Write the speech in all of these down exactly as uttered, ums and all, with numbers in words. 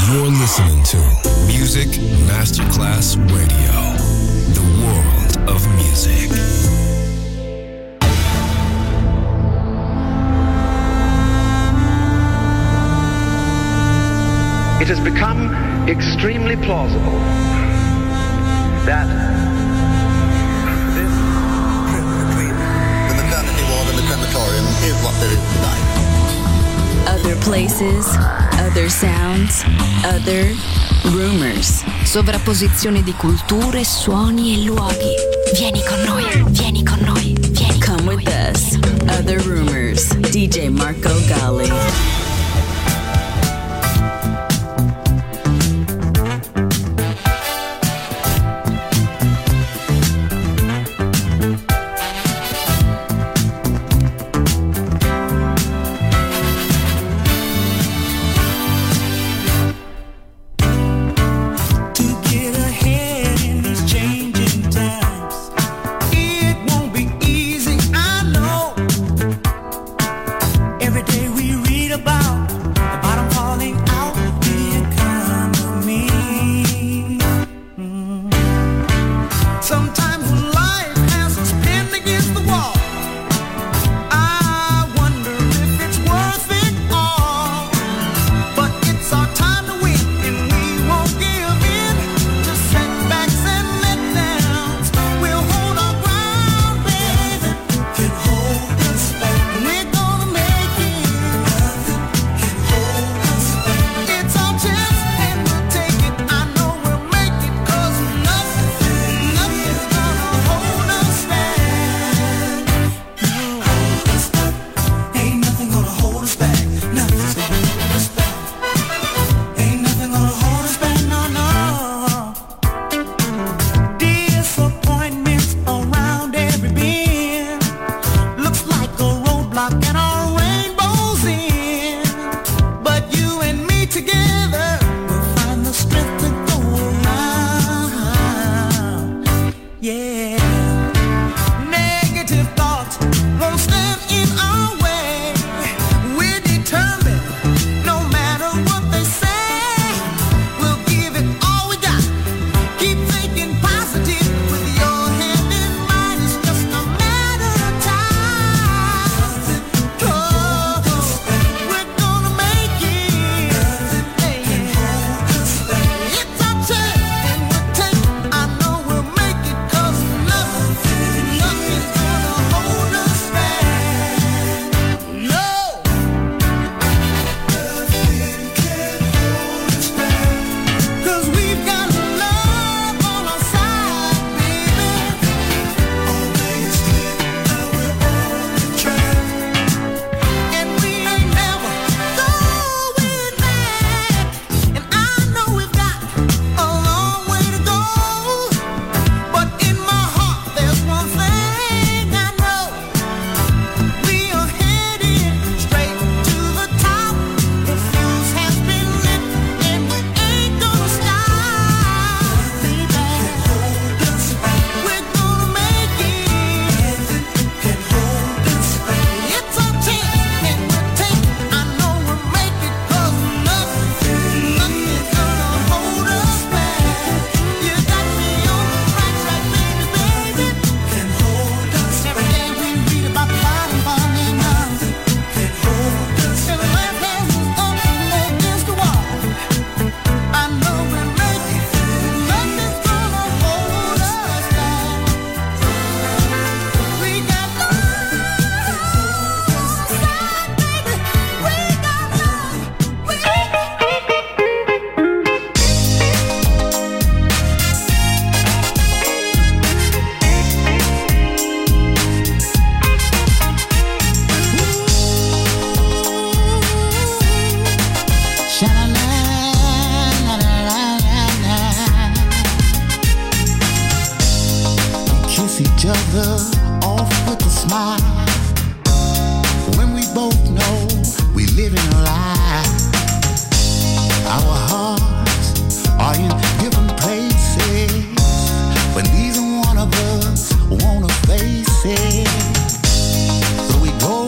You're listening to Music Masterclass Radio, the world of music. It has become extremely plausible that this trip between the maternity ward and the crematorium is what there is tonight. Other places, other sounds, other rumors. Sovrapposizione di culture, suoni e luoghi. Vieni con noi, vieni con noi, vieni. Come with us. Other rumors. D J Marco Gally.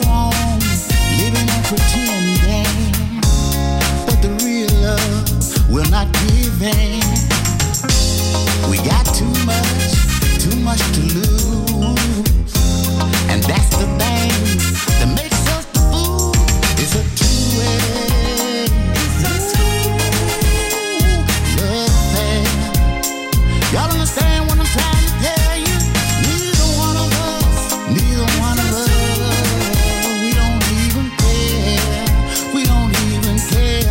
Will not giving. We got too much, too much to lose. And that's the thing that makes us the fool. It's a two-way. It's a two-way love affair. Y'all understand what I'm trying to tell you? Neither one of us, neither one of us, we don't even care. We don't even care.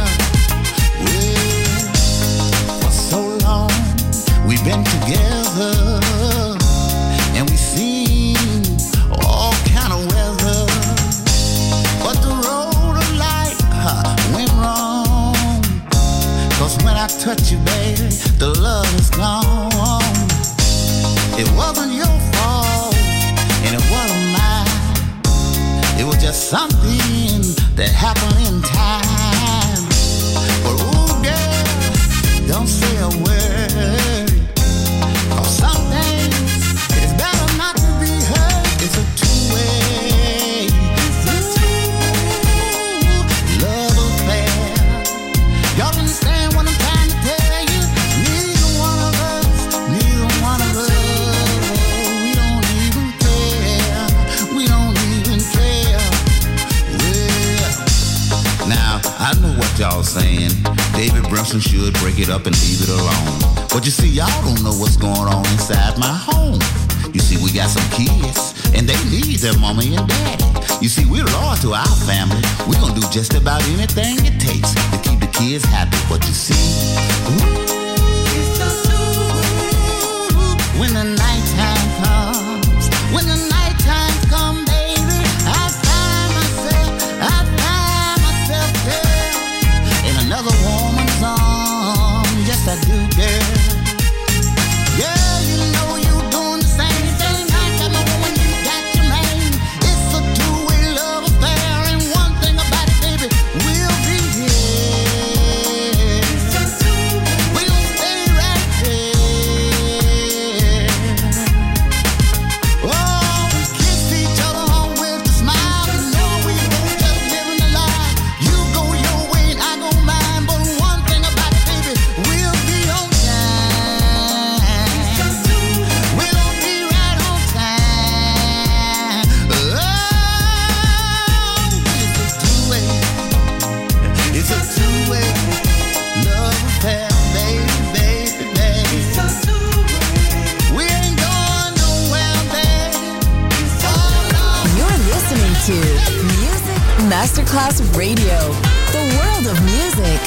Well, for so long we've been together, and we've seen all kind of weather. But the road of life huh, went wrong. Cause when I touch you, baby, the love is gone. It wasn't your fault, and it wasn't mine. It was just something that happened in time. But ooh, girl, don't say a word. Cause some things, it's better not to be heard. It's a two-way, it's a two-way love affair. Y'all understand what I'm trying to tell you? Neither one of us, neither one of us, we don't even care. We don't even care. Well, now I know what y'all saying. David Brimson should break it up and leave it alone. But you see, y'all don't know what's going on inside my home. You see, we got some kids, and they need their mommy and daddy. You see, we're loyal to our family. We're gonna do just about anything it takes to keep the kids happy. But you see, ooh, when the nighttime comes, when the nighttime comes, baby, I find myself, I find myself, girl, in another woman's arms. Yes, I do, girl. Girl, you know you're doing the same thing. I got my woman, you got your man. It's a two-way love affair, and one thing about it, baby, we'll be here. We'll stay right here. Oh, we kiss each other on with a smile. You know we both just living a lie. You go your way and I go mine, but one thing about it, baby, we'll be on time. We'll be right on time. Oh, it's a two-way. It's a two-way love affair, baby, baby, baby. We ain't going nowhere, baby. Oh, no. You're listening to Music Masterclass Radio, the world of music.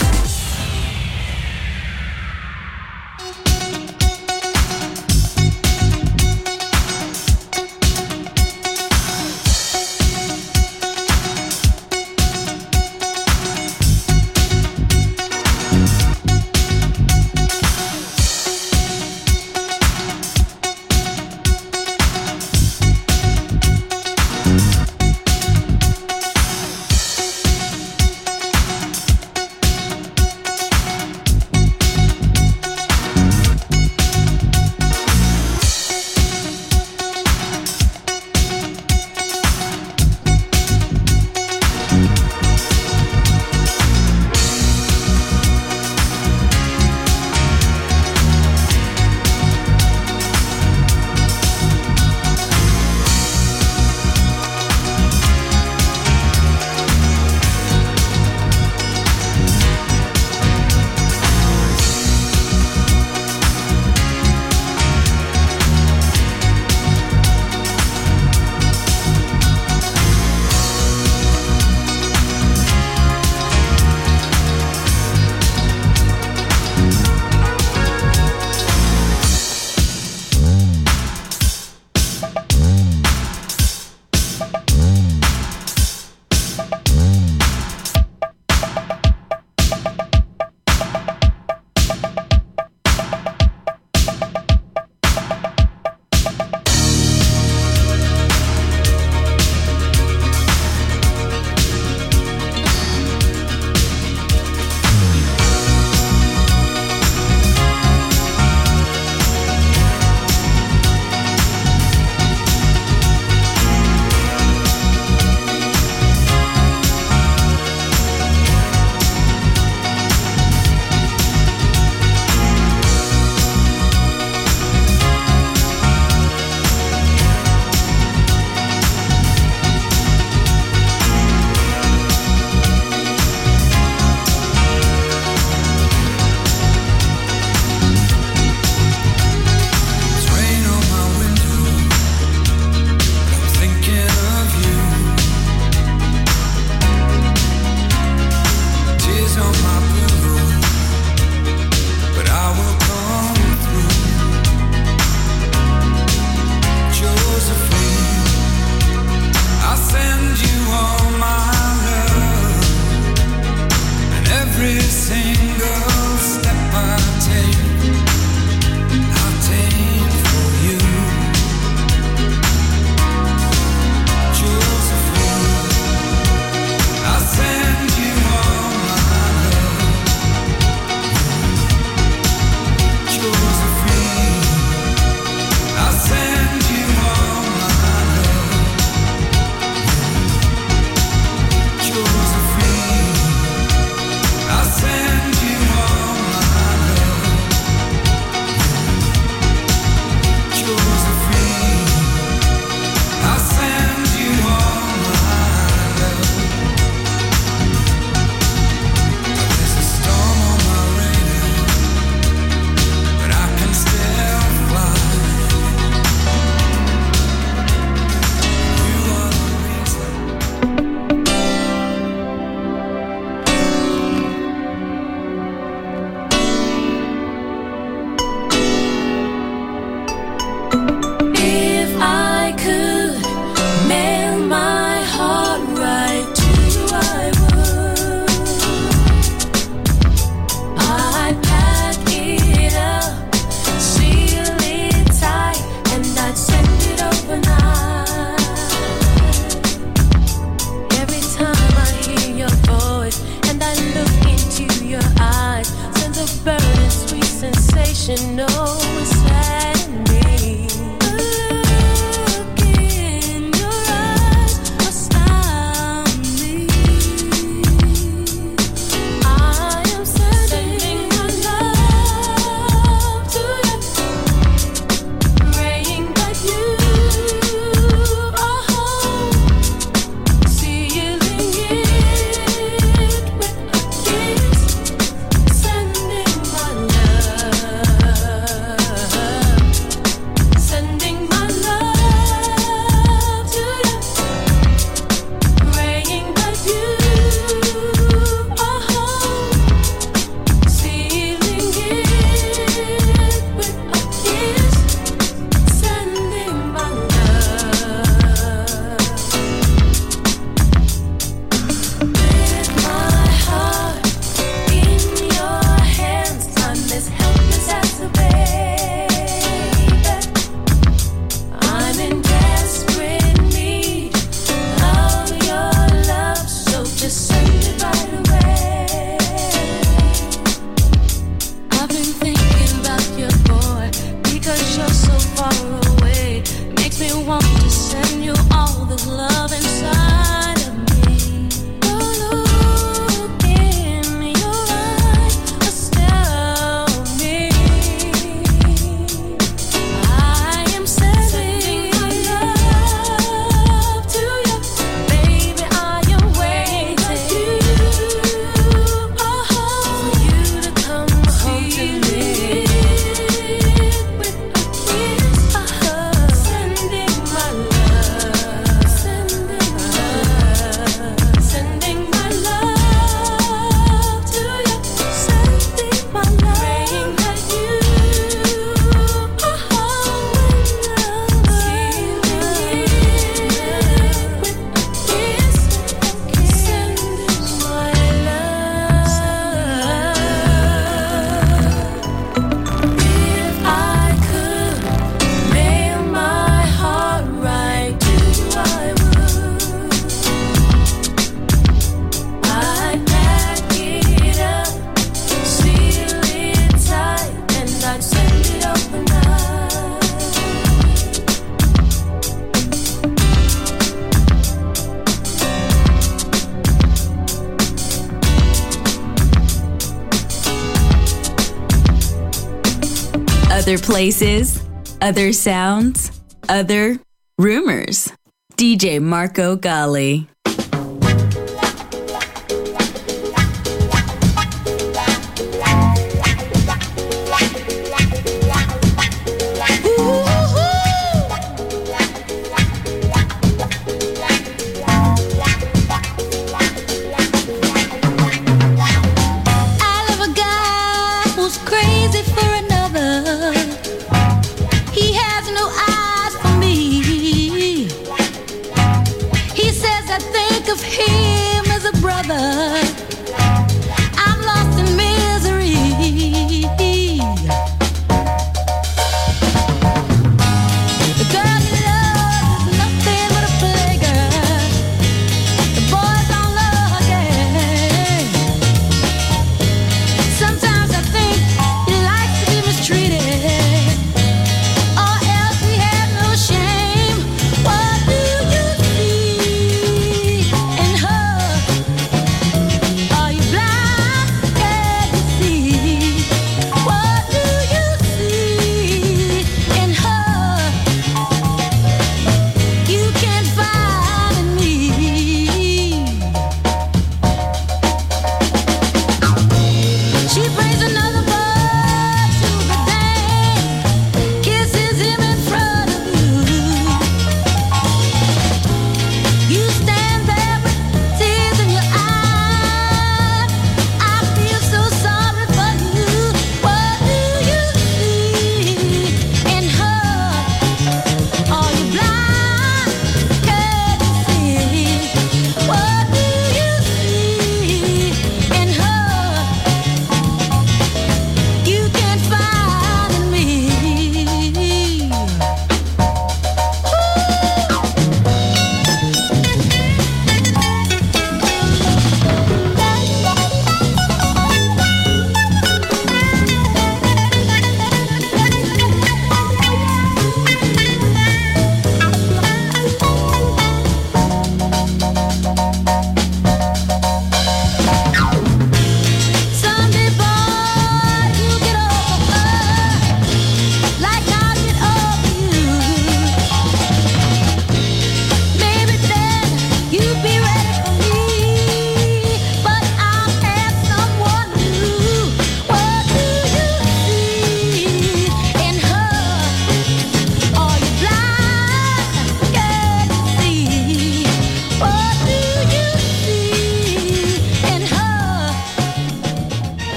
Other places, other sounds, other rumors. D J Marco Gally.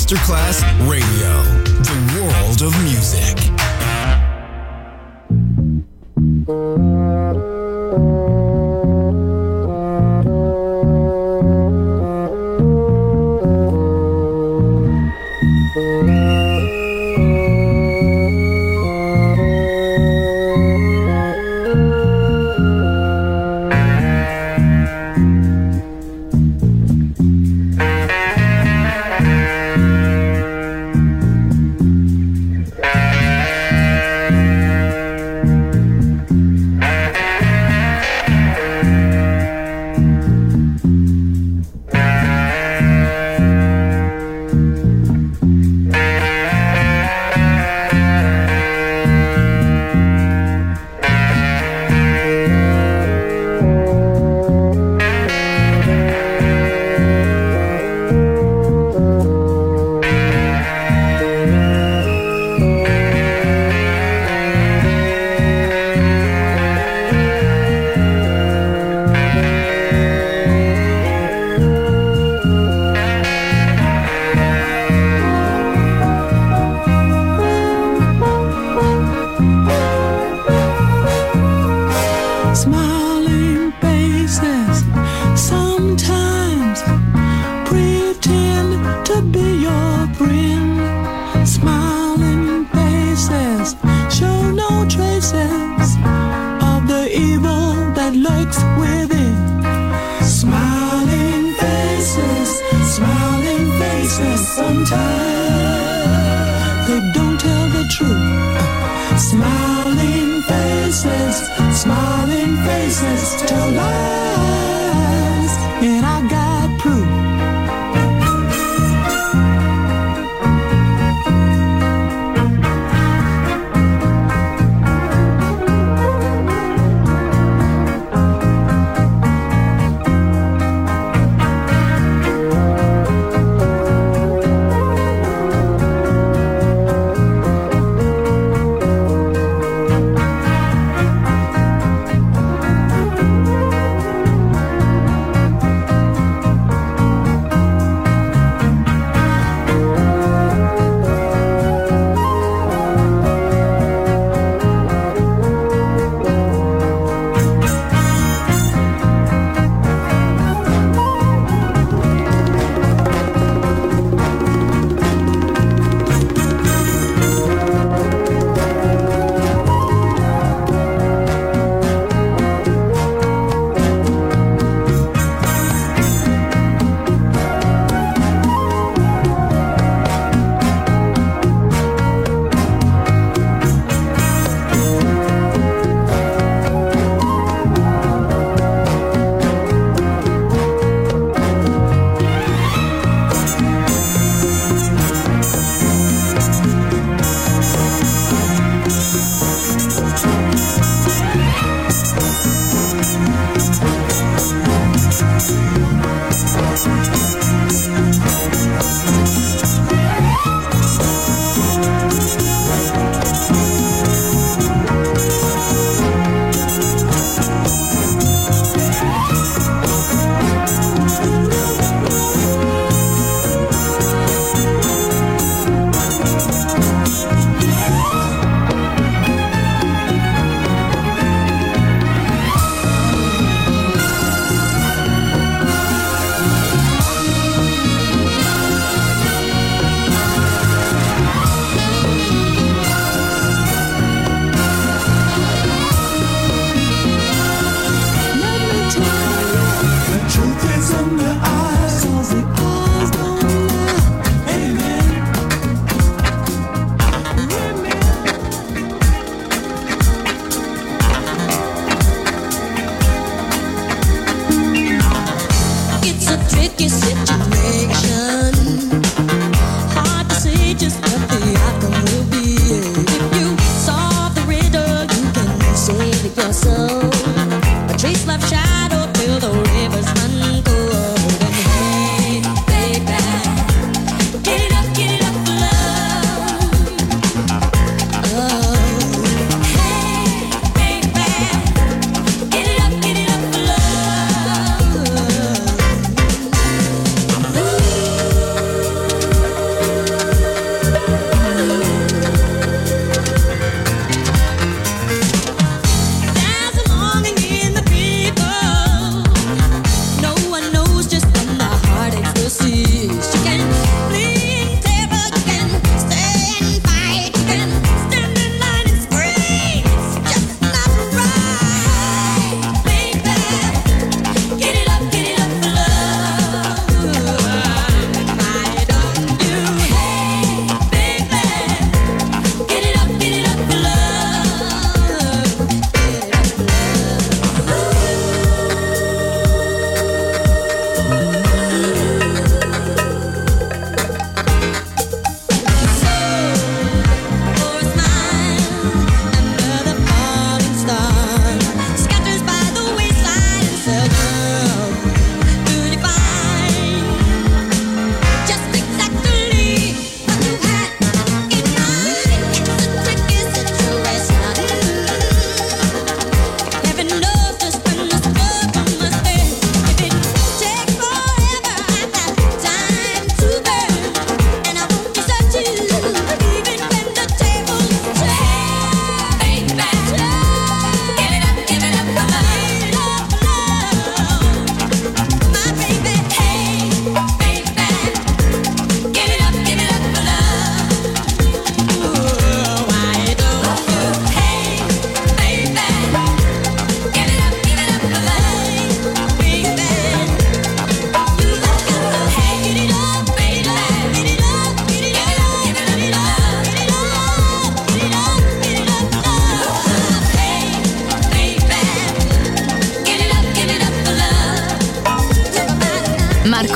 Masterclass Radio, the world of music.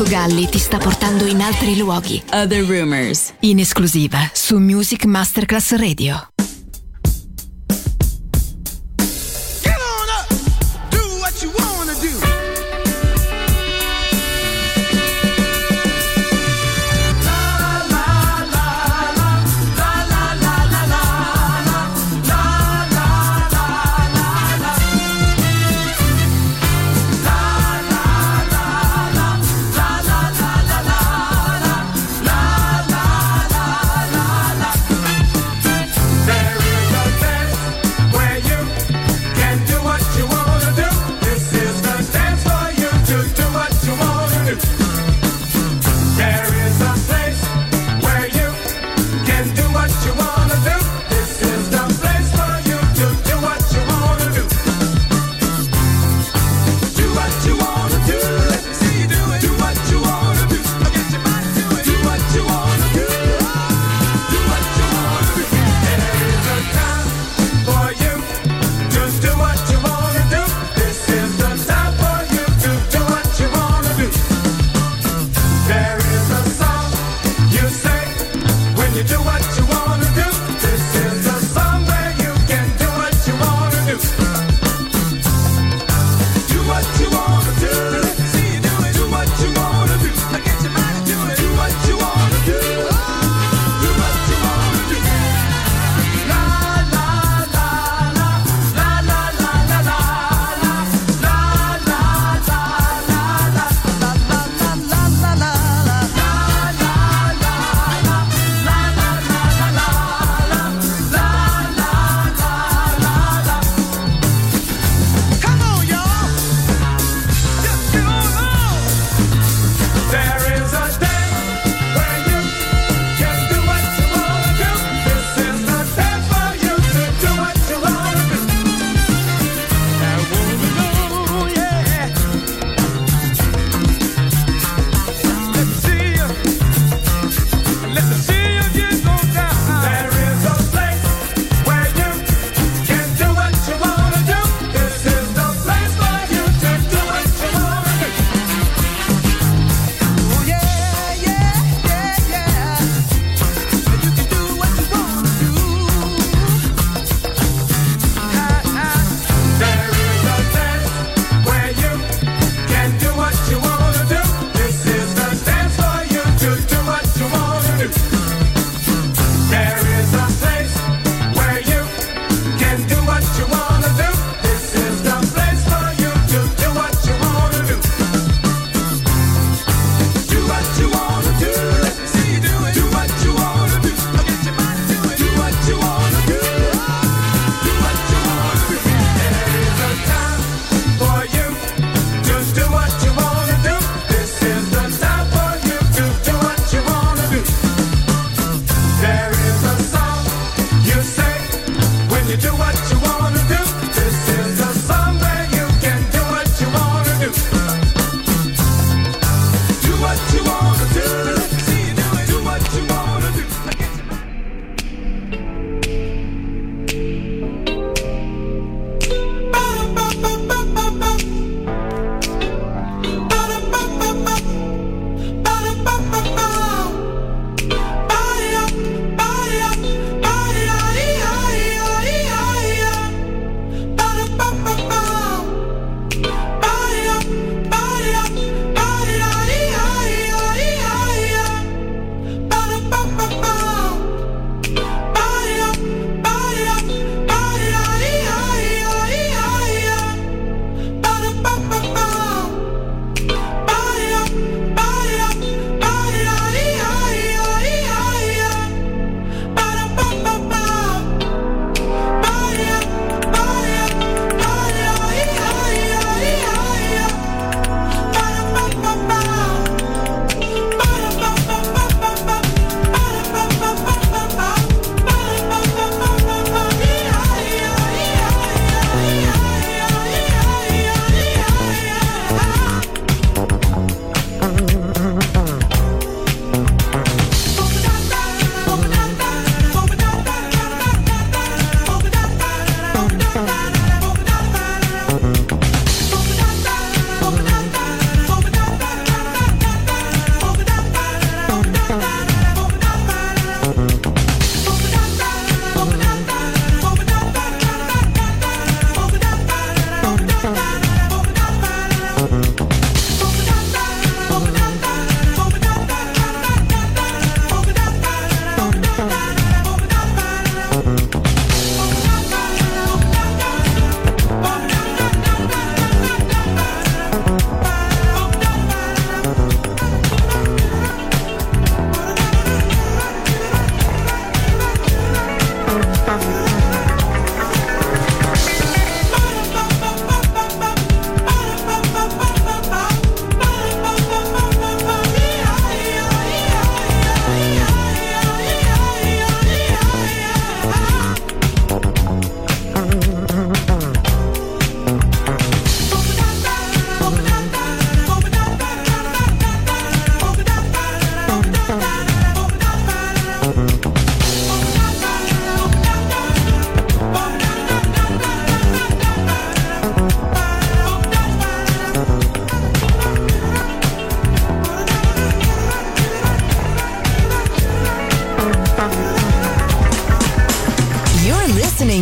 Marco Galli ti sta portando in altri luoghi. Other Rumors, in esclusiva su Music Masterclass Radio. La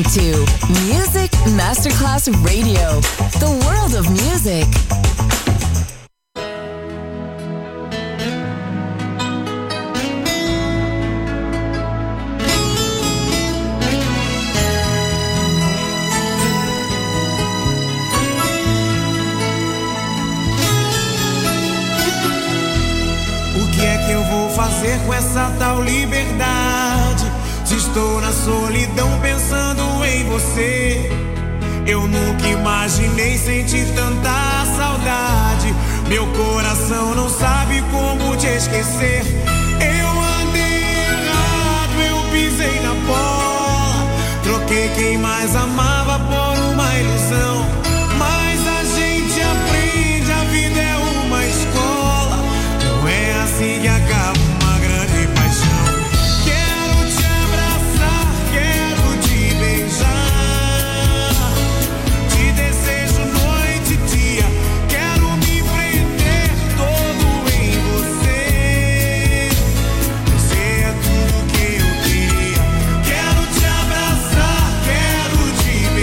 listening to Music Masterclass Radio, the world of music. O que é que eu vou fazer com essa tal liberdade? Se estou na solidão pensando em você, eu nunca imaginei sentir tanta saudade. Meu coração não sabe como te esquecer. Eu andei errado, eu pisei na bola, troquei quem mais amava por uma ilusão. Mas a gente aprende, a vida é uma escola, não é assim que acaba uma grande paixão. Te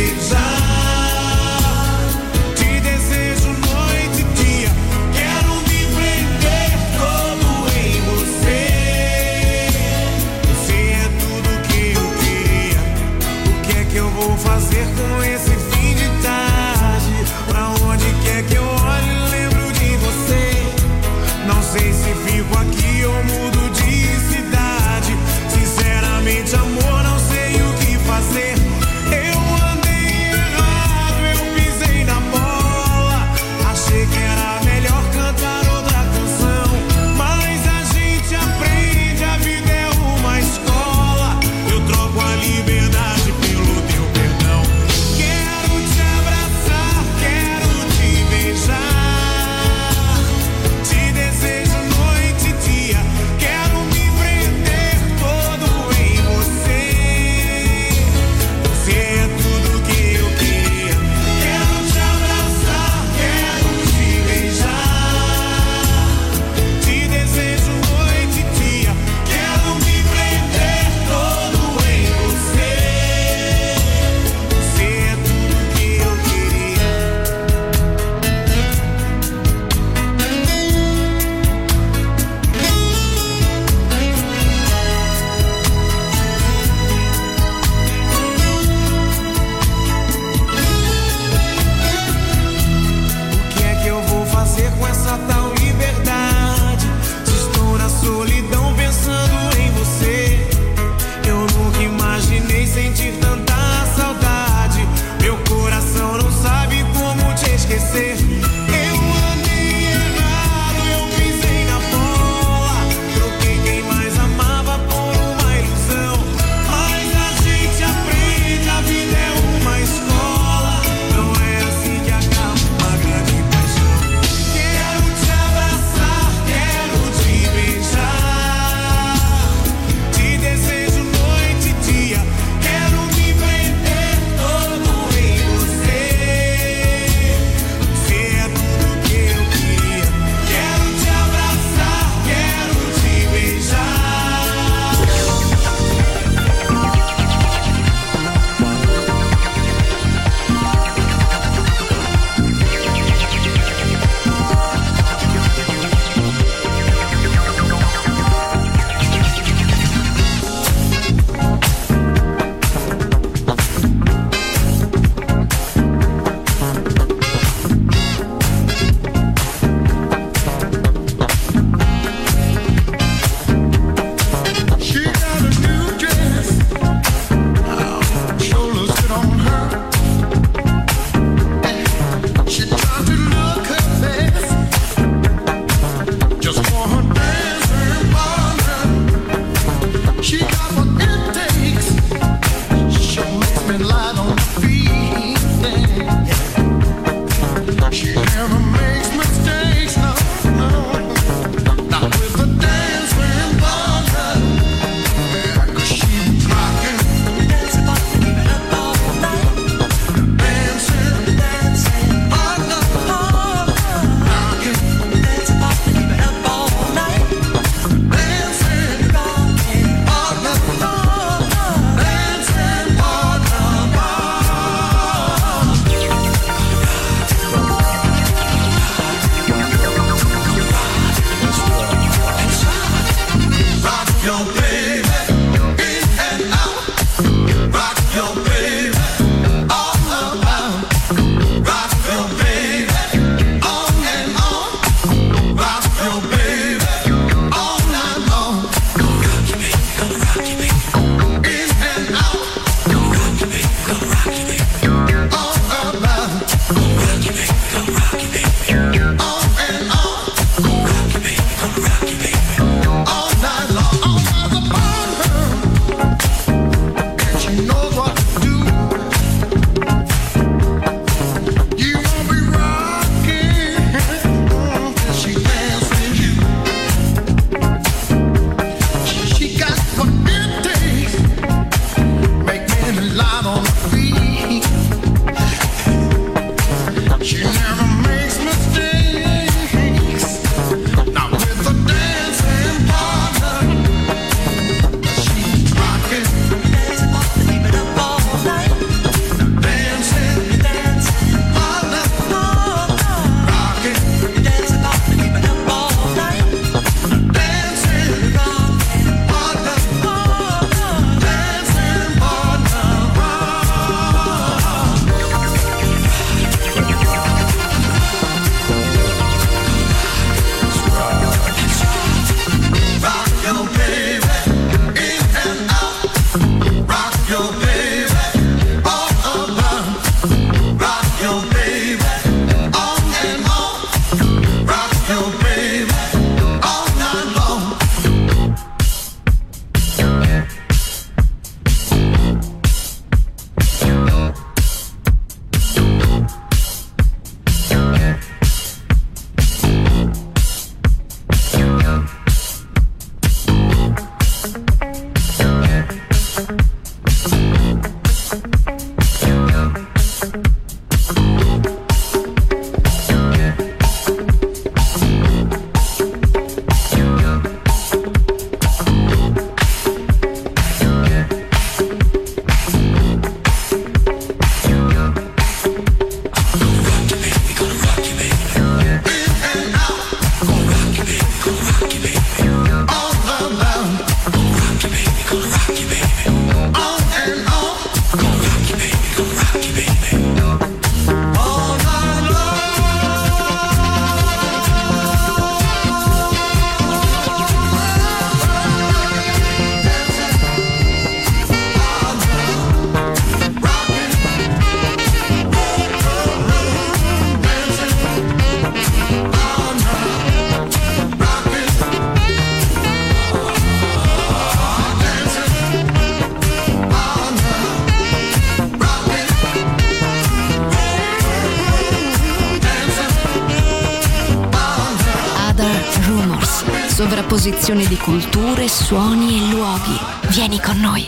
Sovrapposizione di culture, suoni e luoghi. Vieni con noi.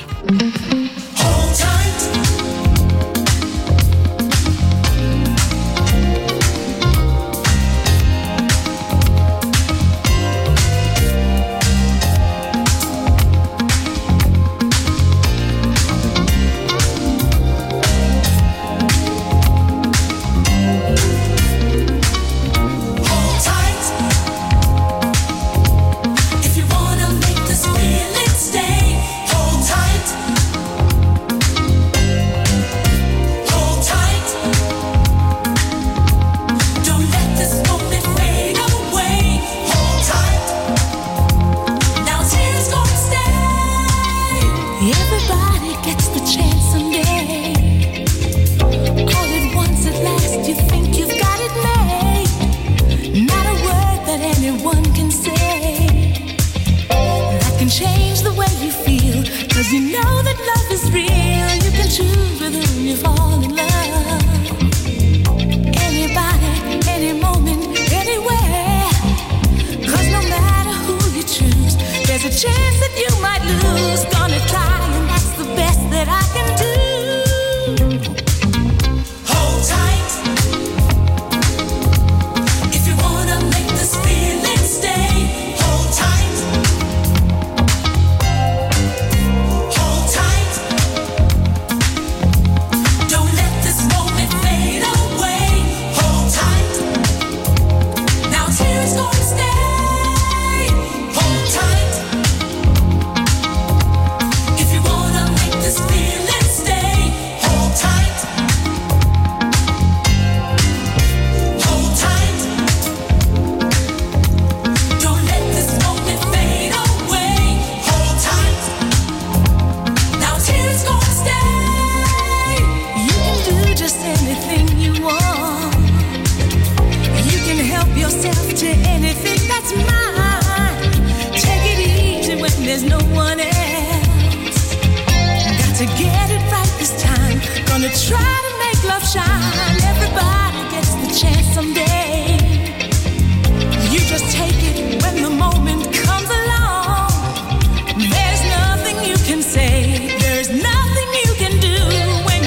There's nothing you can do when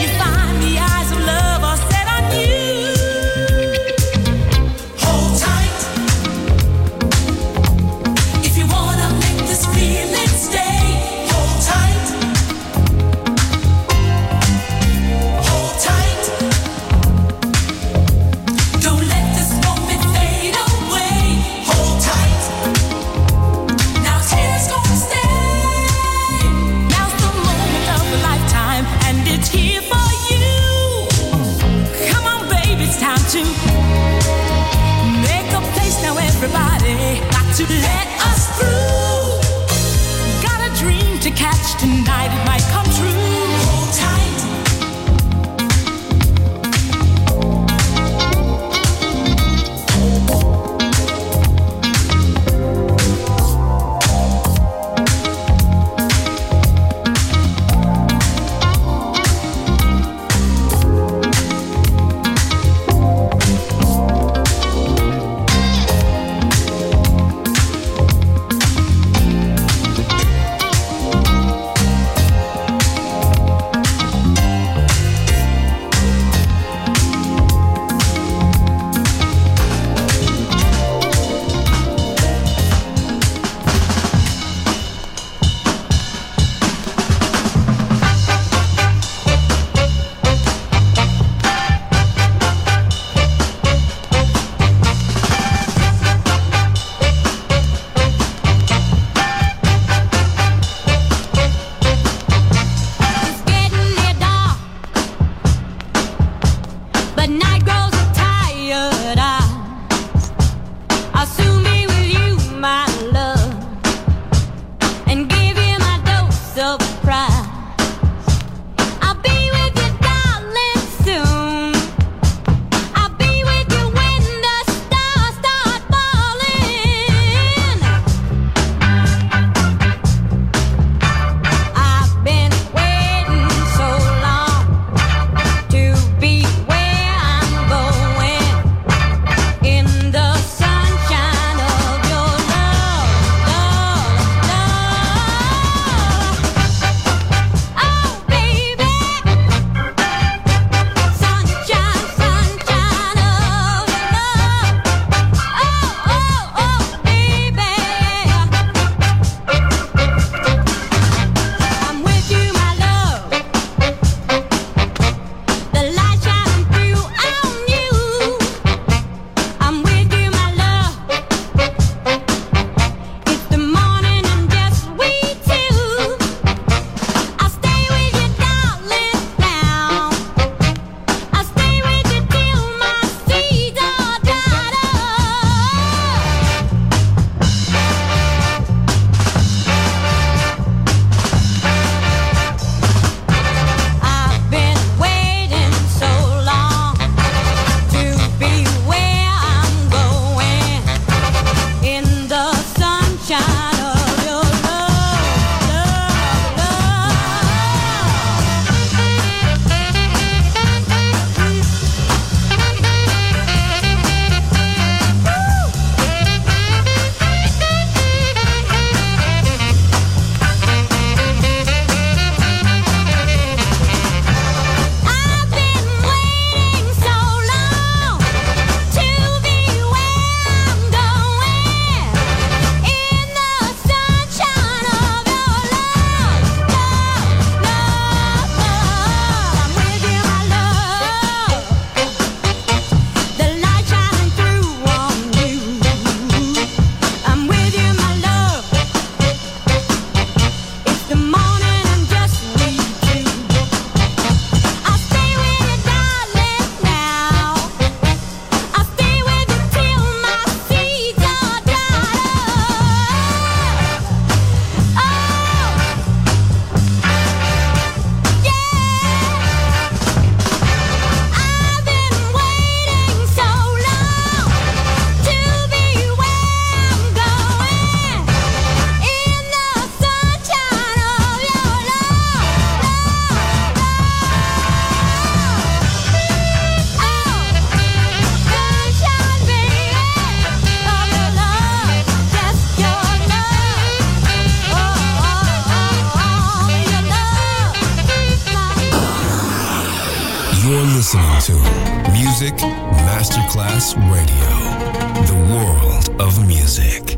You're listening to Music Masterclass Radio, the world of music.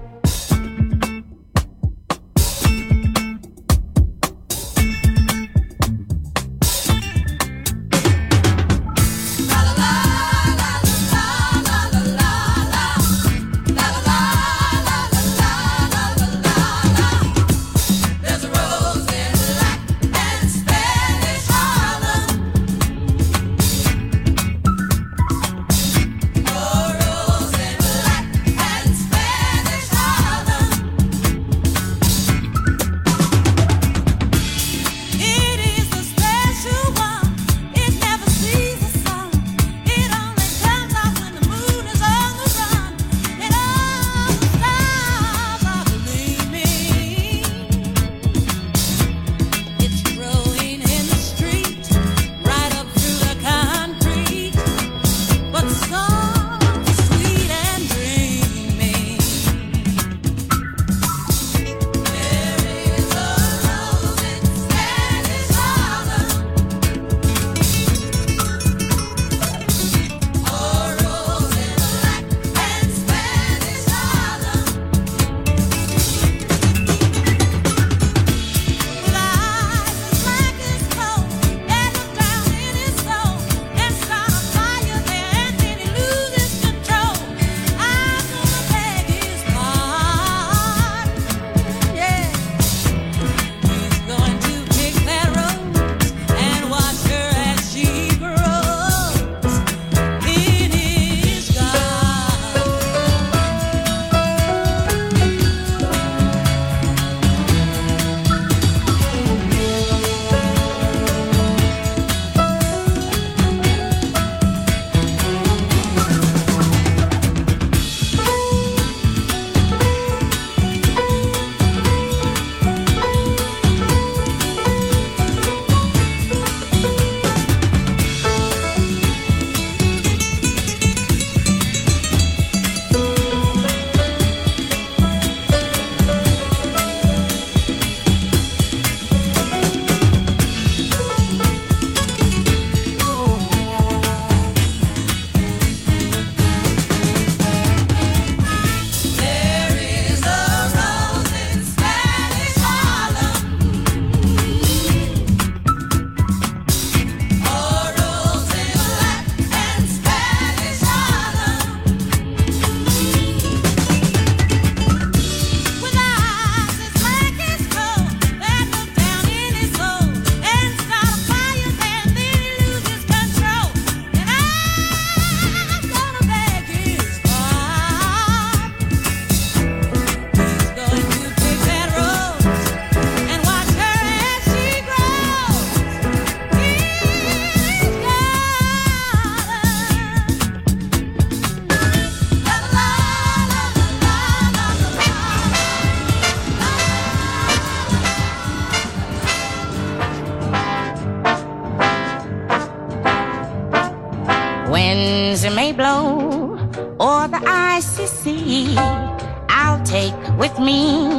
Winds may blow o'er the icy sea, I'll take with me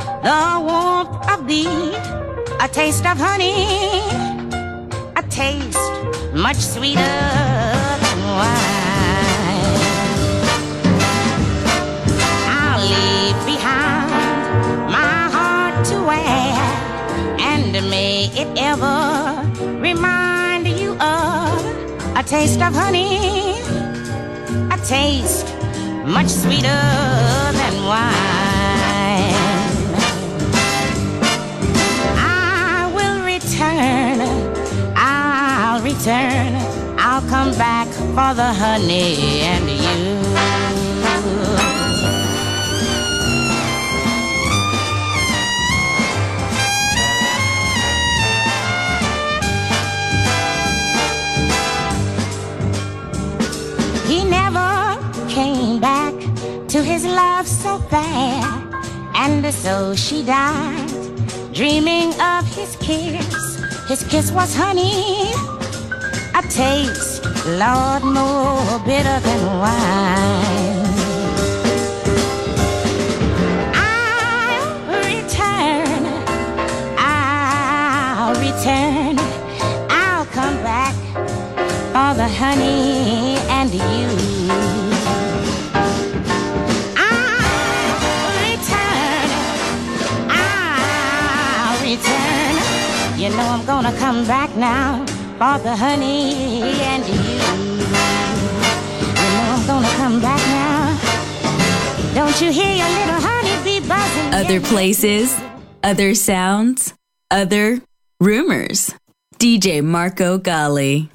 the warmth of thee, a taste of honey, a taste much sweeter than wine. I'll leave behind my heart to wear, and may it ever remind you of a taste of honey, a taste much sweeter than wine. I will return, I'll return, I'll come back for the honey and you. He never came back to his love so fair, and so she died, dreaming of his kiss. His kiss was honey, a taste, Lord, more bitter than wine. I'll return, I'll return, I'll come back for the honey and you. I'll return, I'll return. You know I'm gonna come back now for the honey and you. You know I'm gonna come back now. Don't you hear your little honeybee buzzing? Other places, other sounds, other rumors. D J Marco Gally.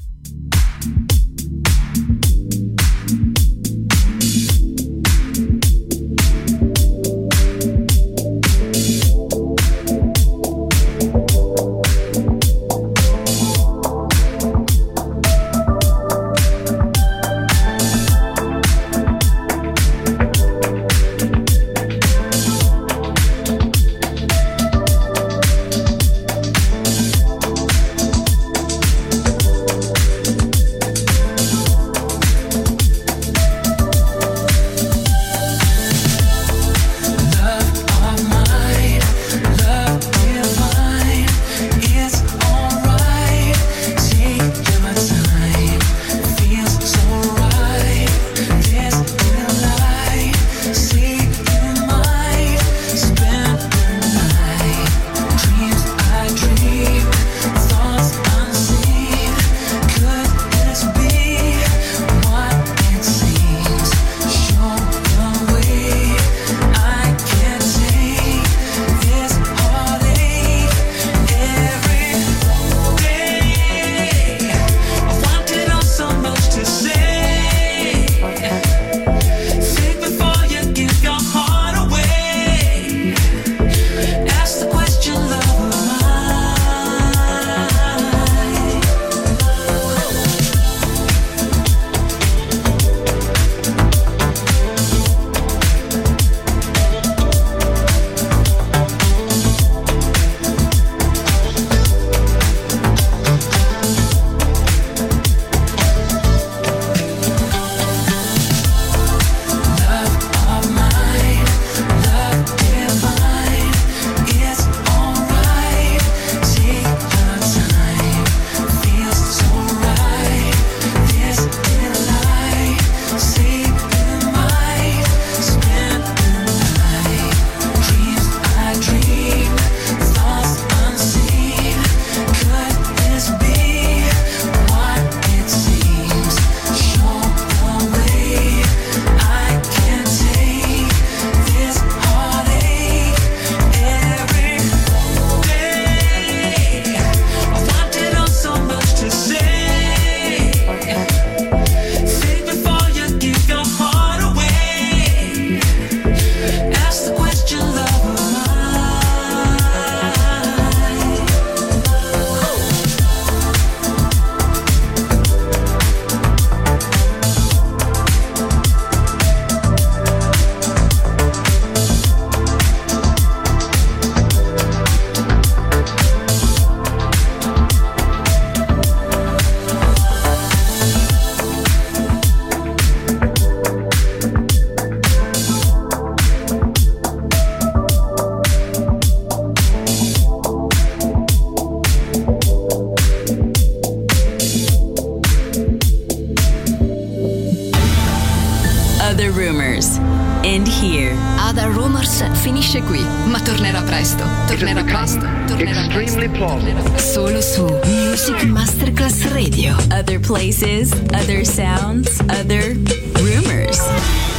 Finisce qui, ma tornerà presto. Tornerà presto. Tornerà presto. Solo su Music Masterclass Radio. Other places, other sounds, other rumors.